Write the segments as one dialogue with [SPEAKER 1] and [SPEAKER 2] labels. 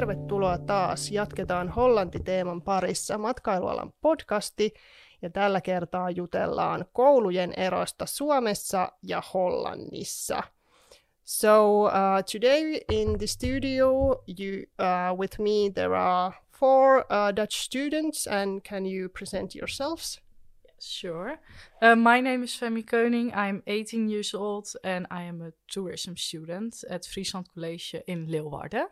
[SPEAKER 1] tervetuloa taas. Jatketaan Hollanti-teeman parissa matkailualan podcasti, ja tällä kertaa jutellaan koulujen erosta Suomessa ja Hollannissa. So today in the studio with me there are four Dutch students, and can you present yourselves?
[SPEAKER 2] Sure. My name is Femi Koning. I'm 18 years old and I am a tourism student at Friesland College in Leeuwarden.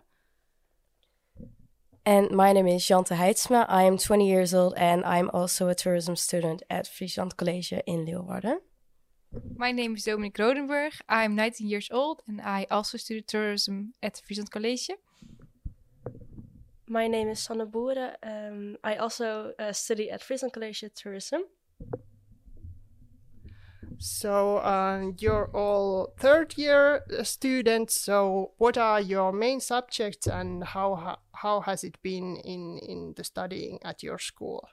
[SPEAKER 3] And my name is Jante Heidsma. I am 20 years old and I'm also a tourism student at Friesland College in Leeuwarden.
[SPEAKER 4] My name is Dominique Rodenburg. I'm 19 years old and I also study tourism at Friesland College.
[SPEAKER 5] My name is Sanne Boeren. I also study at Friesland College Tourism.
[SPEAKER 1] So you're all third year students, so what are your main subjects and how has it been in the studying at your school?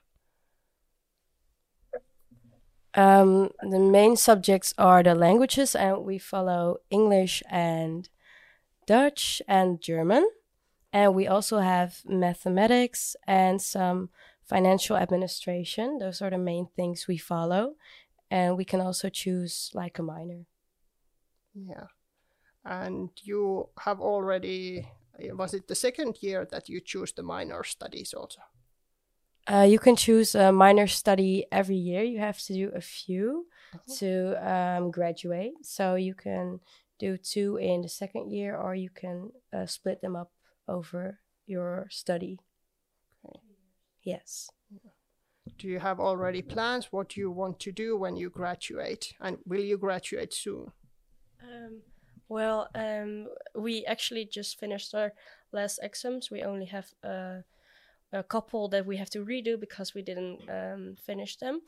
[SPEAKER 3] The main subjects are the languages, and we follow English and Dutch and German. And we also have mathematics and some financial administration. Those are the main things we follow. And we can also choose like a minor.
[SPEAKER 1] Yeah. And you have already, was it the second year that you choose the minor studies also?
[SPEAKER 3] You can choose a minor study every year. You have to do a few to graduate. So you can do 2 in the second year, or you can split them up over your study.
[SPEAKER 1] Okay.
[SPEAKER 3] Yes.
[SPEAKER 1] Yeah. Do you have already plans what you want to do when you graduate? And will you graduate soon?
[SPEAKER 5] We actually just finished our last exams. We only have a couple that we have to redo because we didn't finish them.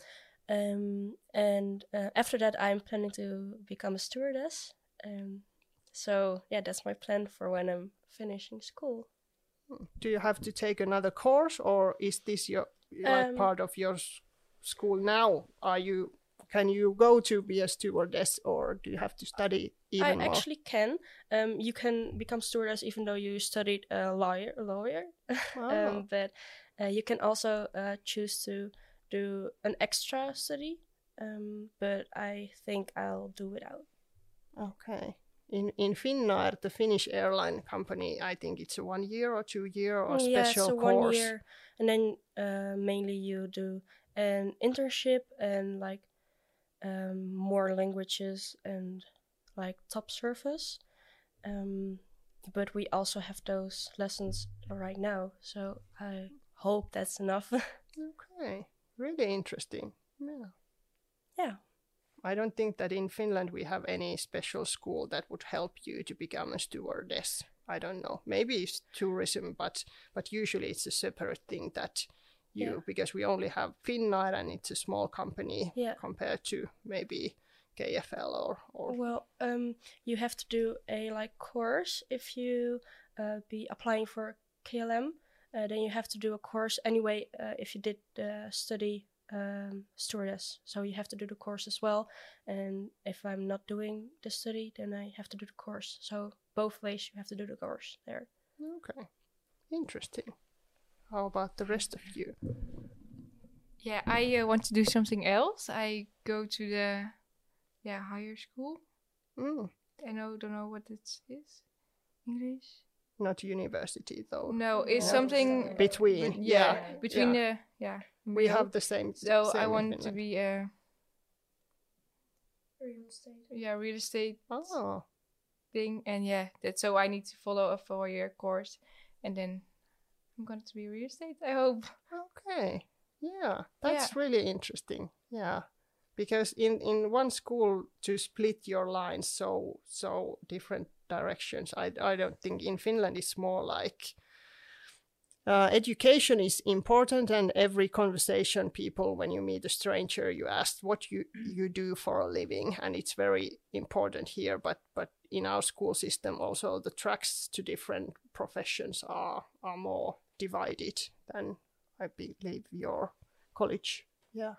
[SPEAKER 5] After that, I'm planning to become a stewardess. That's my plan for when I'm finishing school.
[SPEAKER 1] Do you have to take another course, or is this your part of your school now? Can you go to be a stewardess, or do you have to study even more?
[SPEAKER 5] I actually can. You can become stewardess even though you studied lawyer.
[SPEAKER 1] Oh.
[SPEAKER 5] But you can also choose to do an extra study. But I think I'll do it out.
[SPEAKER 1] Okay. In Finnair, the Finnish airline company, I think it's a 1 year or 2 year or special
[SPEAKER 5] it's a
[SPEAKER 1] course.
[SPEAKER 5] 1 year, and then mainly you do an internship and like more languages and like top service. But we also have those lessons right now, so I hope that's enough.
[SPEAKER 1] Okay, really interesting.
[SPEAKER 5] Yeah.
[SPEAKER 1] I don't think that in Finland we have any special school that would help you to become a stewardess. I don't know. Maybe it's tourism, but usually it's a separate thing that because we only have Finnair and it's a small company compared to maybe KFL or.
[SPEAKER 5] Well, you have to do a course if you be applying for KLM. Then you have to do a course anyway if you did study stewardess, so you have to do the course as well. And if I'm not doing the study, then I have to do the course. So both ways you have to do the course there.
[SPEAKER 1] Okay, interesting. How about the rest of you?
[SPEAKER 4] Yeah, I want to do something else. I go to the higher school. I don't know what it is. English?
[SPEAKER 1] Not university though.
[SPEAKER 4] No, it's something
[SPEAKER 1] between.
[SPEAKER 4] Between
[SPEAKER 1] we have the same.
[SPEAKER 4] So
[SPEAKER 1] same
[SPEAKER 4] I want to be a
[SPEAKER 5] real estate.
[SPEAKER 4] Yeah, real estate.
[SPEAKER 1] Oh.
[SPEAKER 4] Thing, and that's so I need to follow a 4-year course, and then I'm going to be real estate, I hope.
[SPEAKER 1] Okay. Yeah, that's really interesting. Yeah, because in one school to split your lines so different directions. I don't think in Finland it's more like education is important, and every conversation people, when you meet a stranger, you ask what you do for a living, and it's very important here. But in our school system also the tracks to different professions are more divided than I believe your college. Yeah.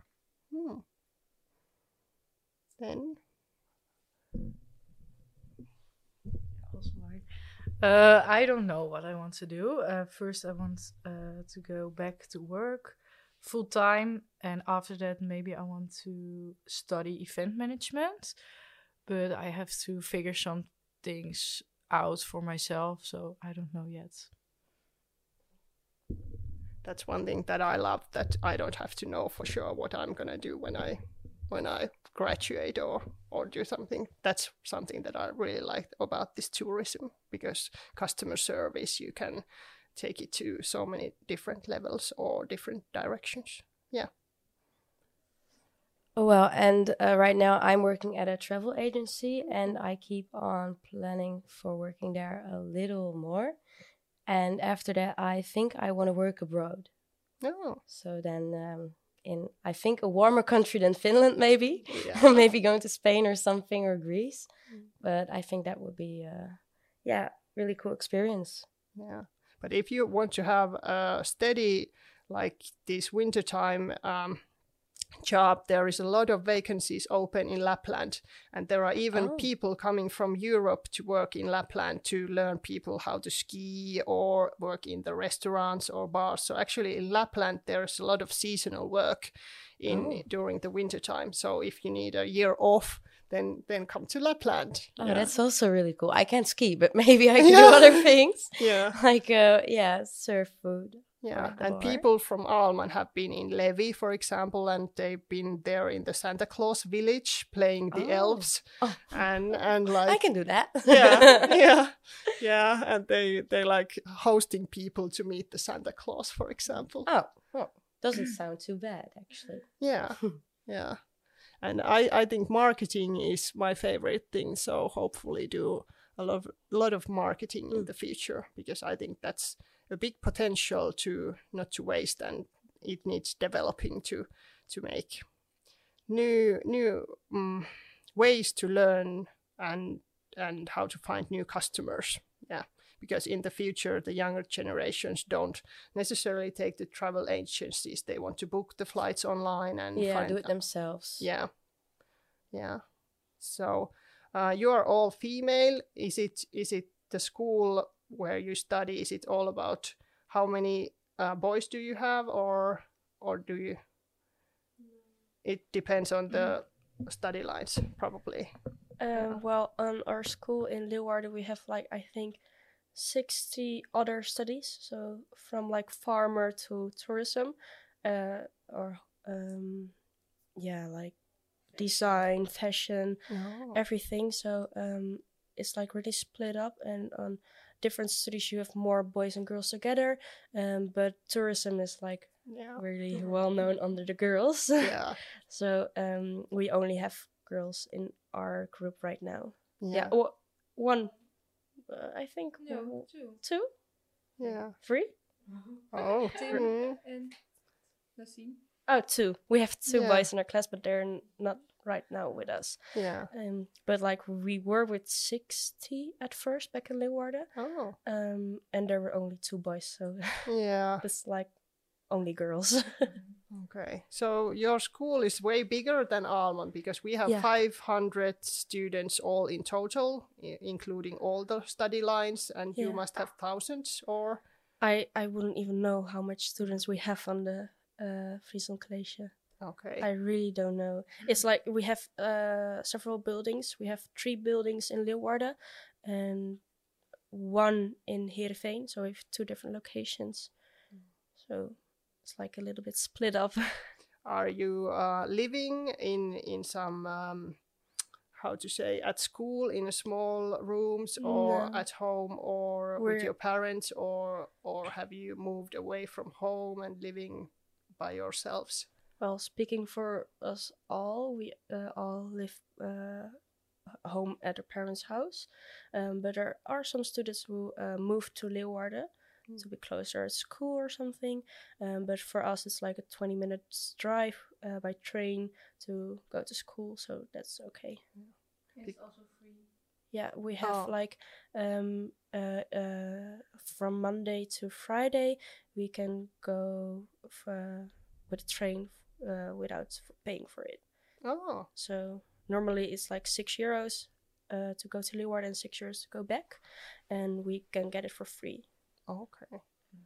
[SPEAKER 1] Then
[SPEAKER 2] I don't know what I want to do. First, I want to go back to work full time, and after that, maybe I want to study event management. But I have to figure some things out for myself, so I don't know yet.
[SPEAKER 1] That's one thing that I love, that I don't have to know for sure what I'm gonna do when I graduate or do something. That's something that I really like about this tourism, because customer service, you can take it to so many different levels or different directions. Yeah.
[SPEAKER 3] Well, and right now I'm working at a travel agency, and I keep on planning for working there a little more. And after that, I think I want to work abroad.
[SPEAKER 1] Oh.
[SPEAKER 3] So then in, I think, a warmer country than Finland, maybe.
[SPEAKER 1] Yeah.
[SPEAKER 3] Maybe going to Spain or something, or Greece. But I think that would be, really cool experience.
[SPEAKER 1] Yeah. But if you want to have a steady, like this wintertime job, there is a lot of vacancies open in Lapland, and there are even people coming from Europe to work in Lapland to learn people how to ski or work in the restaurants or bars. So actually in Lapland there's a lot of seasonal work during the wintertime. So if you need a year off, then come to Lapland.
[SPEAKER 3] Oh, that's also really cool. I can't ski, but maybe I can do other things.
[SPEAKER 1] Yeah.
[SPEAKER 3] Like surf food.
[SPEAKER 1] Yeah, and people from Alman have been in Levi, for example, and they've been there in the Santa Claus village playing the elves, and like
[SPEAKER 3] I can do that.
[SPEAKER 1] yeah, and they like hosting people to meet the Santa Claus, for example.
[SPEAKER 3] Oh, doesn't sound too bad actually.
[SPEAKER 1] Yeah, yeah, and I think marketing is my favorite thing. So hopefully do a lot of marketing in the future, because I think that's a big potential to not to waste, and it needs developing to make new ways to learn and how to find new customers. Yeah, because in the future the younger generations don't necessarily take the travel agencies. They want to book the flights online and
[SPEAKER 3] do it themselves.
[SPEAKER 1] Yeah. So you are all female. Is it the school where you study, is it all about how many boys do you have, or do you? It depends on the study lines, probably.
[SPEAKER 5] Well, on our school in Leeuwarden, we have like, I think, 60 other studies. So from like farmer to tourism, like design, fashion, everything. So it's like really split up, and on different studies you have more boys and girls together, but tourism is like really well known under the girls.
[SPEAKER 1] Yeah.
[SPEAKER 5] So we only have girls in our group right now.
[SPEAKER 1] Yeah.
[SPEAKER 5] One, I think.
[SPEAKER 4] No,
[SPEAKER 5] two.
[SPEAKER 1] Yeah.
[SPEAKER 5] 3.
[SPEAKER 1] Oh.
[SPEAKER 4] Tim and Nassim.
[SPEAKER 5] Oh, 2. We have 2 boys in our class, but they're not right now with us.
[SPEAKER 1] Yeah.
[SPEAKER 5] But like we were with 60 at first back in Leeuwarden.
[SPEAKER 1] Oh.
[SPEAKER 5] And there were only 2 boys, so
[SPEAKER 1] yeah,
[SPEAKER 5] it's like only girls.
[SPEAKER 1] Okay, so your school is way bigger than Alman, because we have 500 students all in total, including all the study lines, and you must have thousands, or?
[SPEAKER 5] I wouldn't even know how much students we have on the Friesland College.
[SPEAKER 1] Okay.
[SPEAKER 5] I really don't know. It's like we have several buildings. We have 3 buildings in Leeuwarden and 1 in Heerenveen. So we have 2 different locations. So it's like a little bit split up.
[SPEAKER 1] Are you living in some, how to say, at school in small rooms, or at home, or with your parents, or have you moved away from home and living by yourselves?
[SPEAKER 5] Well, speaking for us all, we all live home at our parents' house. But there are some students who moved to Leeuwarden to be closer at school or something. But for us, it's like a 20 minutes drive by train to go to school, so that's okay.
[SPEAKER 4] It's also free.
[SPEAKER 5] Yeah, we have like from Monday to Friday, we can go with a train without paying for it.
[SPEAKER 1] Oh.
[SPEAKER 5] So normally it's like €6, to go to Leeuwarden and 6 years to go back, and we can get it for free.
[SPEAKER 1] Okay.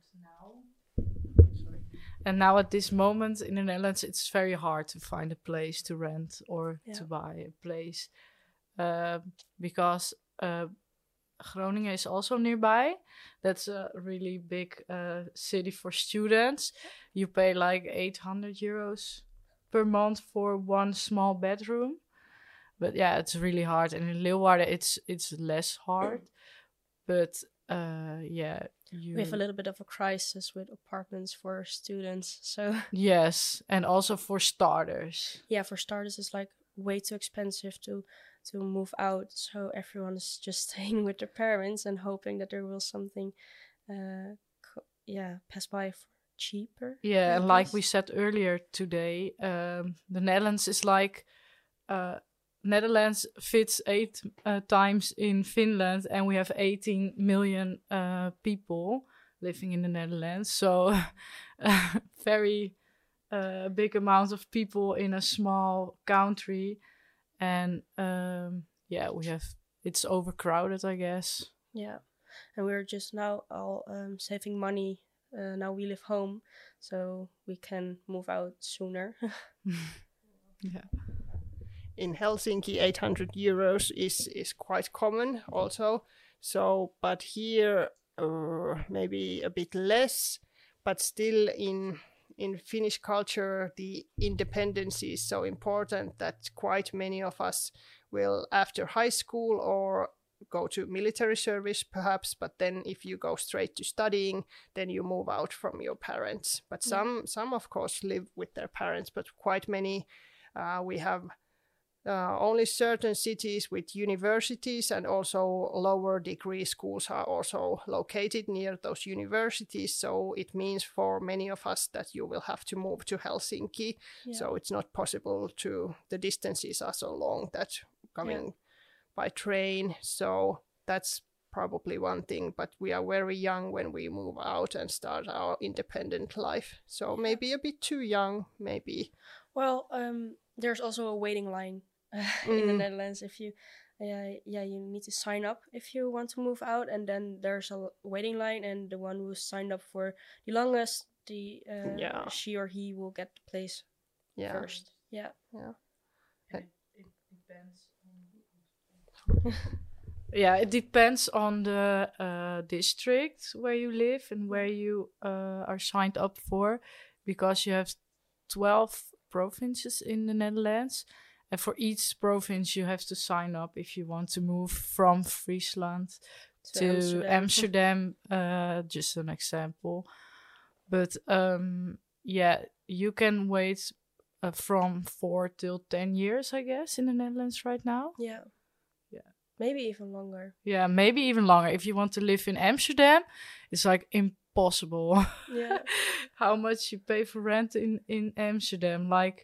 [SPEAKER 2] And now at this moment in the Netherlands, it's very hard to find a place to rent or to buy a place because Groningen is also nearby. That's a really big city for students. You pay like 800 euros per month for one small bedroom. But yeah, it's really hard. And in Leeuwarden, it's less hard. But
[SPEAKER 5] we have a little bit of a crisis with apartments for students. So
[SPEAKER 2] yes, and also for starters.
[SPEAKER 5] Yeah, for starters, it's like way too expensive to move out. So everyone is just staying with their parents and hoping that there will something, pass by for cheaper.
[SPEAKER 2] Yeah, and like we said earlier today, the Netherlands is like. Netherlands fits 8 times in Finland, and we have 18 million people living in the Netherlands. So very big amount of people in a small country. And it's overcrowded, I guess.
[SPEAKER 5] Yeah, and we're just now all saving money. Now we live home, so we can move out sooner.
[SPEAKER 2] Yeah.
[SPEAKER 1] In Helsinki, 800 euros is quite common also. So, but here maybe a bit less, but still in Finnish culture, the independence is so important that quite many of us will, after high school or go to military service perhaps, but then if you go straight to studying, then you move out from your parents. But some of course live with their parents, but quite many we have only certain cities with universities, and also lower degree schools are also located near those universities. So it means for many of us that you will have to move to Helsinki. Yeah. So it's not possible the distances are so long that coming by train. So that's probably one thing, but we are very young when we move out and start our independent life. So maybe a bit too young, maybe.
[SPEAKER 5] Well, there's also a waiting line in the Netherlands. If you, you need to sign up if you want to move out, and then there's a waiting line, and the one who signed up for the longest, she or he will get the place first. Yeah.
[SPEAKER 2] It depends. It depends on the district where you live and where you are signed up for, because you have 12 provinces in the Netherlands, and for each province you have to sign up if you want to move from Friesland to Amsterdam. Just an example. But you can wait from 4 till 10 years, I guess, in the Netherlands right now.
[SPEAKER 5] Yeah. Maybe even longer.
[SPEAKER 2] Yeah, maybe even longer. If you want to live in Amsterdam, it's like impossible.
[SPEAKER 5] Yeah.
[SPEAKER 2] How much you pay for rent in Amsterdam? Like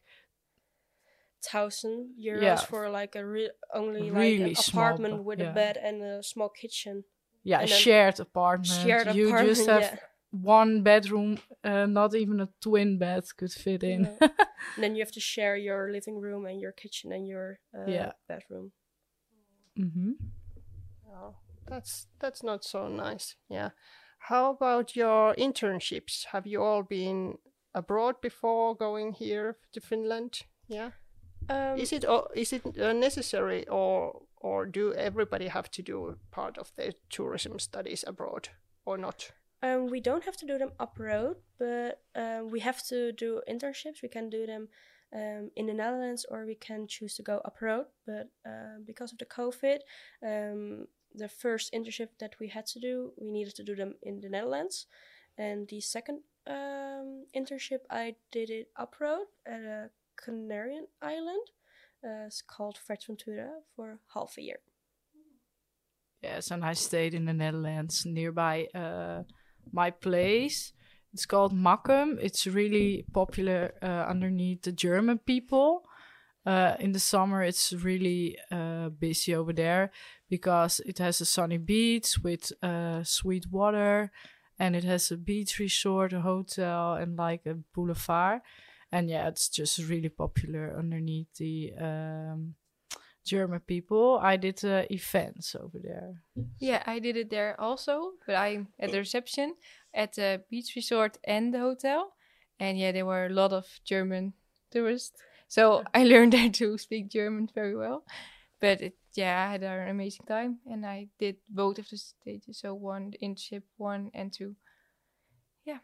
[SPEAKER 5] 1,000 euros for like only like an apartment with a bed and a small kitchen.
[SPEAKER 2] Yeah, a shared apartment. You just have one bedroom, not even a twin bed could fit in.
[SPEAKER 5] Yeah. And then you have to share your living room and your kitchen and your bedroom.
[SPEAKER 2] Mm-hmm.
[SPEAKER 1] Oh, that's not so nice. Yeah. How about your internships? Have you all been abroad before going here to Finland? Yeah. Is it necessary, or do everybody have to do part of their tourism studies abroad or not?
[SPEAKER 5] We don't have to do them abroad, but we have to do internships. We can do them in the Netherlands, or we can choose to go abroad. But because of the COVID, the first internship that we had to do, we needed to do them in the Netherlands. And the second internship, I did it abroad at a Canarian island. It's called Fuerteventura for half a year.
[SPEAKER 2] Yes, and I stayed in the Netherlands nearby my place. It's called Makkum. It's really popular underneath the German people. In the summer, it's really busy over there because it has a sunny beach with sweet water, and it has a beach resort, a hotel, and like a boulevard. And yeah, it's just really popular underneath German people. I did events over there.
[SPEAKER 4] Yeah, I did it there also, but I'm at the reception at the beach resort and the hotel. And yeah, there were a lot of German tourists. So I learned there to speak German very well. But I had an amazing time. And I did both of the stages. So 1, internship 1 and 2. Yeah.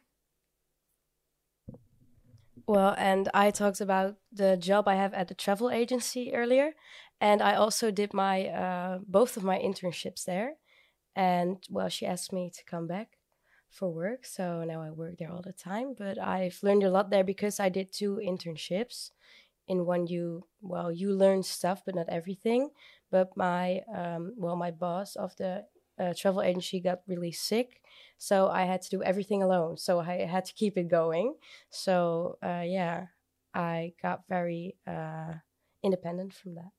[SPEAKER 3] Well, and I talked about the job I have at the travel agency earlier. And I also did my both of my internships there. And, well, she asked me to come back for work. So now I work there all the time. But I've learned a lot there because I did 2 internships. In one, you learn stuff, but not everything. But my boss of the travel agency got really sick. So I had to do everything alone. So I had to keep it going. So, I got very independent from that.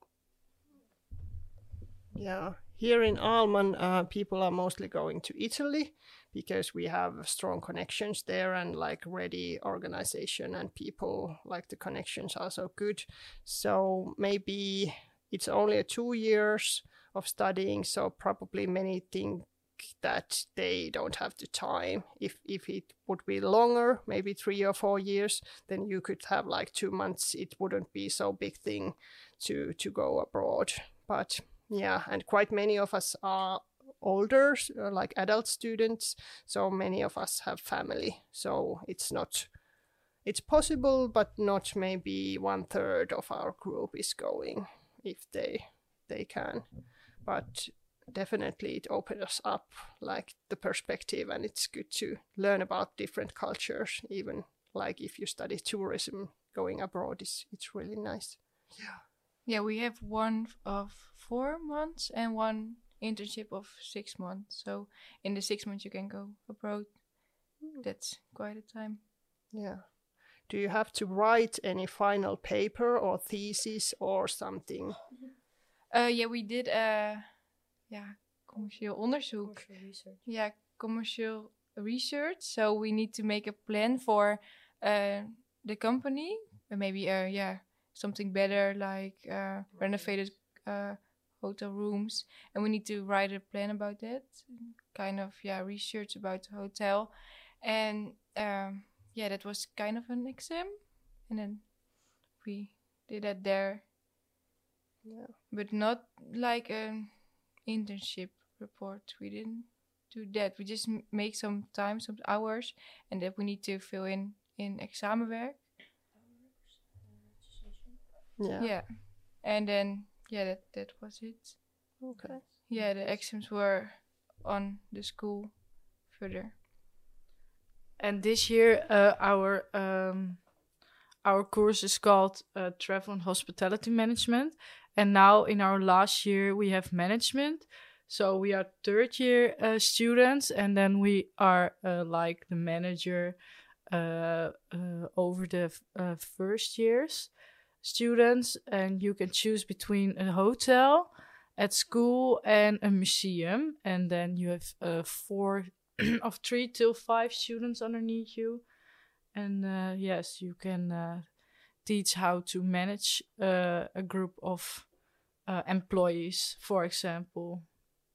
[SPEAKER 1] Yeah, here in Alman, people are mostly going to Italy because we have strong connections there and like ready organization, and people like the connections are so good. So maybe it's only 2 years of studying, so probably many think that they don't have the time. If it would be longer, maybe 3 or 4 years, then you could have like 2 months. It wouldn't be so big thing to go abroad. But yeah, and quite many of us are older, like adult students, so many of us have family. So it's possible, but not maybe 1/3 of our group is going if they can. But definitely it opens us up like the perspective, and it's good to learn about different cultures. Even like if you study tourism, going abroad it's really nice.
[SPEAKER 4] Yeah, we have 1 of 4 months and 1 internship of 6 months. So in the 6 months you can go abroad. That's quite a time.
[SPEAKER 1] Yeah. Do you have to write any final paper or thesis or something?
[SPEAKER 4] Yeah, we did commercieel onderzoek.
[SPEAKER 5] Commercial research.
[SPEAKER 4] Yeah, commercial research. So we need to make a plan for the company, maybe something better like renovated hotel rooms, and we need to write a plan about that, kind of research about the hotel, and that was kind of an exam, and then we did that there. Yeah, but not like an internship report. We didn't do that. We just make some time, some hours, and that we need to fill in examenwerk. Yeah. And then that was it.
[SPEAKER 1] Okay.
[SPEAKER 4] Yeah, the exams were on the school further.
[SPEAKER 2] And this year our course is called Travel and Hospitality Management. And now in our last year we have management. So we are 3rd year students, and then we are like the manager over the first years students, and you can choose between a hotel, at school, and a museum, and then you have 4 of 3 till 5 students underneath you, and yes, you can teach how to manage a group of employees, for example.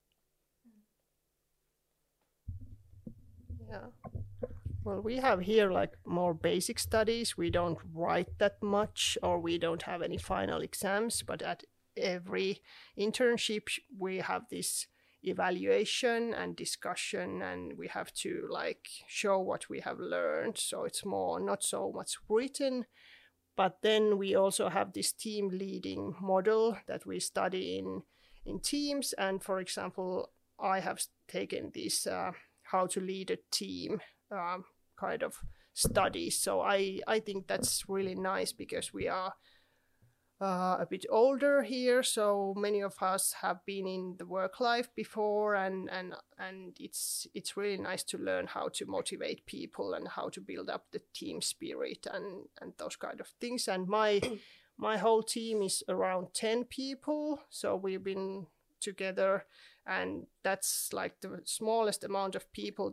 [SPEAKER 1] Yeah. Well, we have here like more basic studies. We don't write that much, or we don't have any final exams, but at every internship we have this evaluation and discussion, and we have to like show what we have learned. So it's more not so much written, but then we also have this team leading model that we study in teams. And for example, I have taken this how to lead a team kind of studies. So I think that's really nice because we are a bit older here, so many of us have been in the work life before, and it's really nice to learn how to motivate people and how to build up the team spirit and those kind of things. And my whole team is around 10 people, so we've been together, and that's like the smallest amount of people that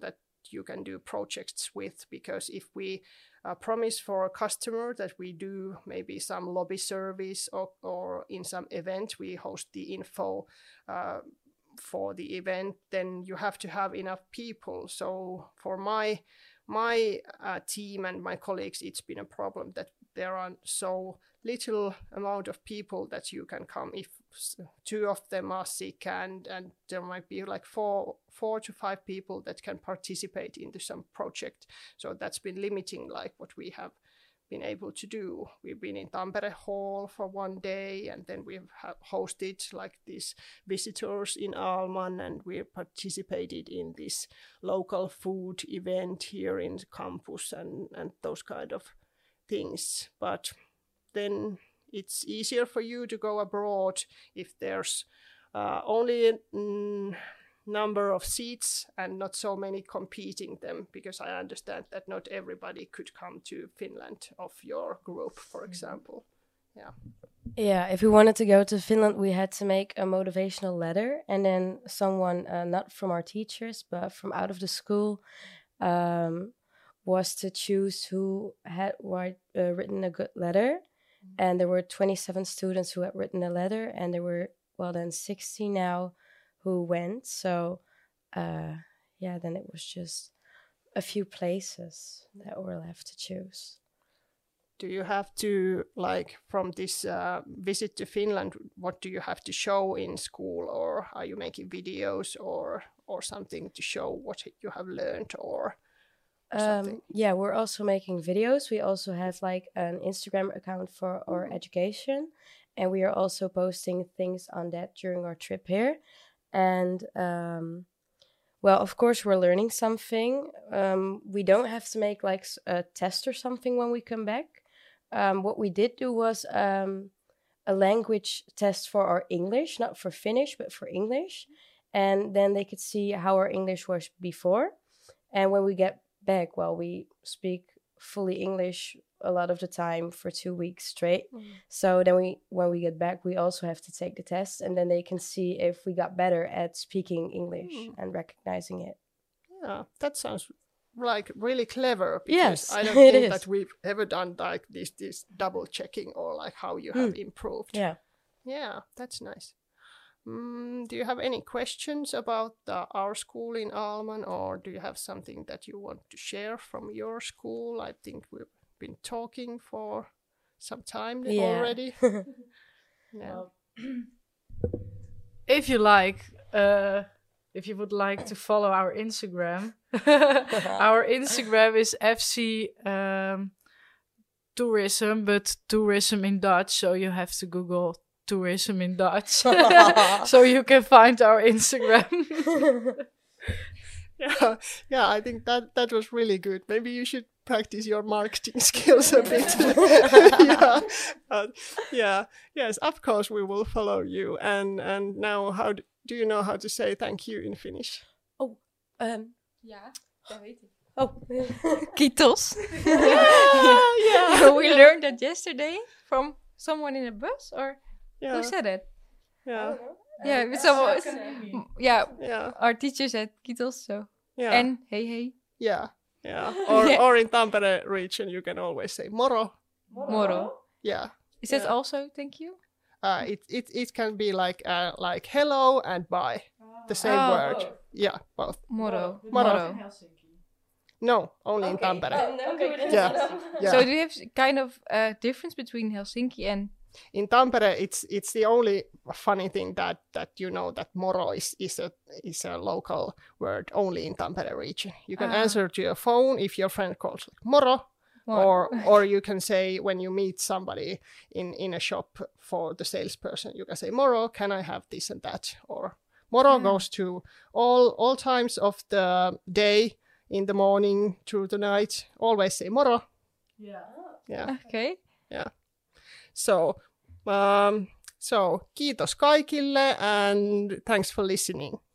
[SPEAKER 1] you can do projects with, because if we promise for a customer that we do maybe some lobby service or in some event we host the info for the event, then you have to have enough people. So for my team and my colleagues, it's been a problem that there are so little amount of people that you can come. If 2 of them are sick, and there might be like 4 to 5 people that can participate into some project. So that's been limiting like what we have been able to do. We've been in Tampere Hall for 1 day, and then we've hosted like these visitors in Alman, and we participated in this local food event here in the campus and those kind of things. But then it's easier for you to go abroad if there's only a number of seats and not so many competing them, because I understand that not everybody could come to Finland of your group, for example.
[SPEAKER 3] Yeah, if we wanted to go to Finland, we had to make a motivational letter, and then someone, not from our teachers, but from out of the school, was to choose who had written a good letter. And there were 27 students who had written a letter, and there were, 60 now who went. So, then it was just a few places that were left to choose.
[SPEAKER 1] Do you have to, like, from this visit to Finland, what do you have to show in school, or are you making videos or something to show what you have learned, or something?
[SPEAKER 3] We're also making videos. We also have like an Instagram account for our education, and we are also posting things on that during our trip here. And of course we're learning something. We don't have to make like a test or something when we come back. What we did do was a language test for our English, not for Finnish, but for English. And then they could see how our English was before. And when we get back, we speak fully English a lot of the time for 2 weeks straight. So then when we get back, we also have to take the test, and then they can see if we got better at speaking English and recognizing it.
[SPEAKER 1] Yeah, that sounds like really clever,
[SPEAKER 3] Yes,
[SPEAKER 1] because I don't
[SPEAKER 3] it
[SPEAKER 1] think
[SPEAKER 3] is.
[SPEAKER 1] that we've ever done like this double checking, or like how you have improved. Yeah, that's nice. Do you have any questions about our school in Alman, or do you have something that you want to share from your school? I think we've been talking for some time already.
[SPEAKER 2] If you would like to follow our Instagram, our Instagram is FC Tourism, but tourism in Dutch, so you have to Google tourism in Dutch so you can find our Instagram.
[SPEAKER 1] I think that was really good. Maybe you should practice your marketing skills a bit. Yes, of course we will follow you. And now, how do you know how to say thank you in Finnish?
[SPEAKER 4] Ja, dat weet ik.
[SPEAKER 3] Oh,
[SPEAKER 4] Kiitos.
[SPEAKER 1] Yeah.
[SPEAKER 4] We learned that yesterday from someone in a bus, or who said it?
[SPEAKER 1] Yeah.
[SPEAKER 4] Yeah, with someone. Our teacher said kiitos, so.
[SPEAKER 1] Yeah.
[SPEAKER 4] And hey.
[SPEAKER 1] Yeah. Or in Tampere region, you can always say moro.
[SPEAKER 4] Moro.
[SPEAKER 1] Yeah.
[SPEAKER 4] Is that also thank you?
[SPEAKER 1] It can be like hello and bye, the same word.
[SPEAKER 2] Both.
[SPEAKER 1] Yeah, both.
[SPEAKER 4] Moro.
[SPEAKER 1] No, only in Tampere. Yeah.
[SPEAKER 4] So do you have kind of a difference between Helsinki and?
[SPEAKER 1] In Tampere, it's the only funny thing that you know that moro is a local word only in Tampere region. You can answer to your phone if your friend calls like moro. Or you can say when you meet somebody in a shop for the salesperson, you can say moro, can I have this and that? Or moro goes to all times of the day, in the morning through the night. Always say moro. Yeah.
[SPEAKER 4] Okay.
[SPEAKER 1] Yeah. So kiitos kaikille, and thanks for listening.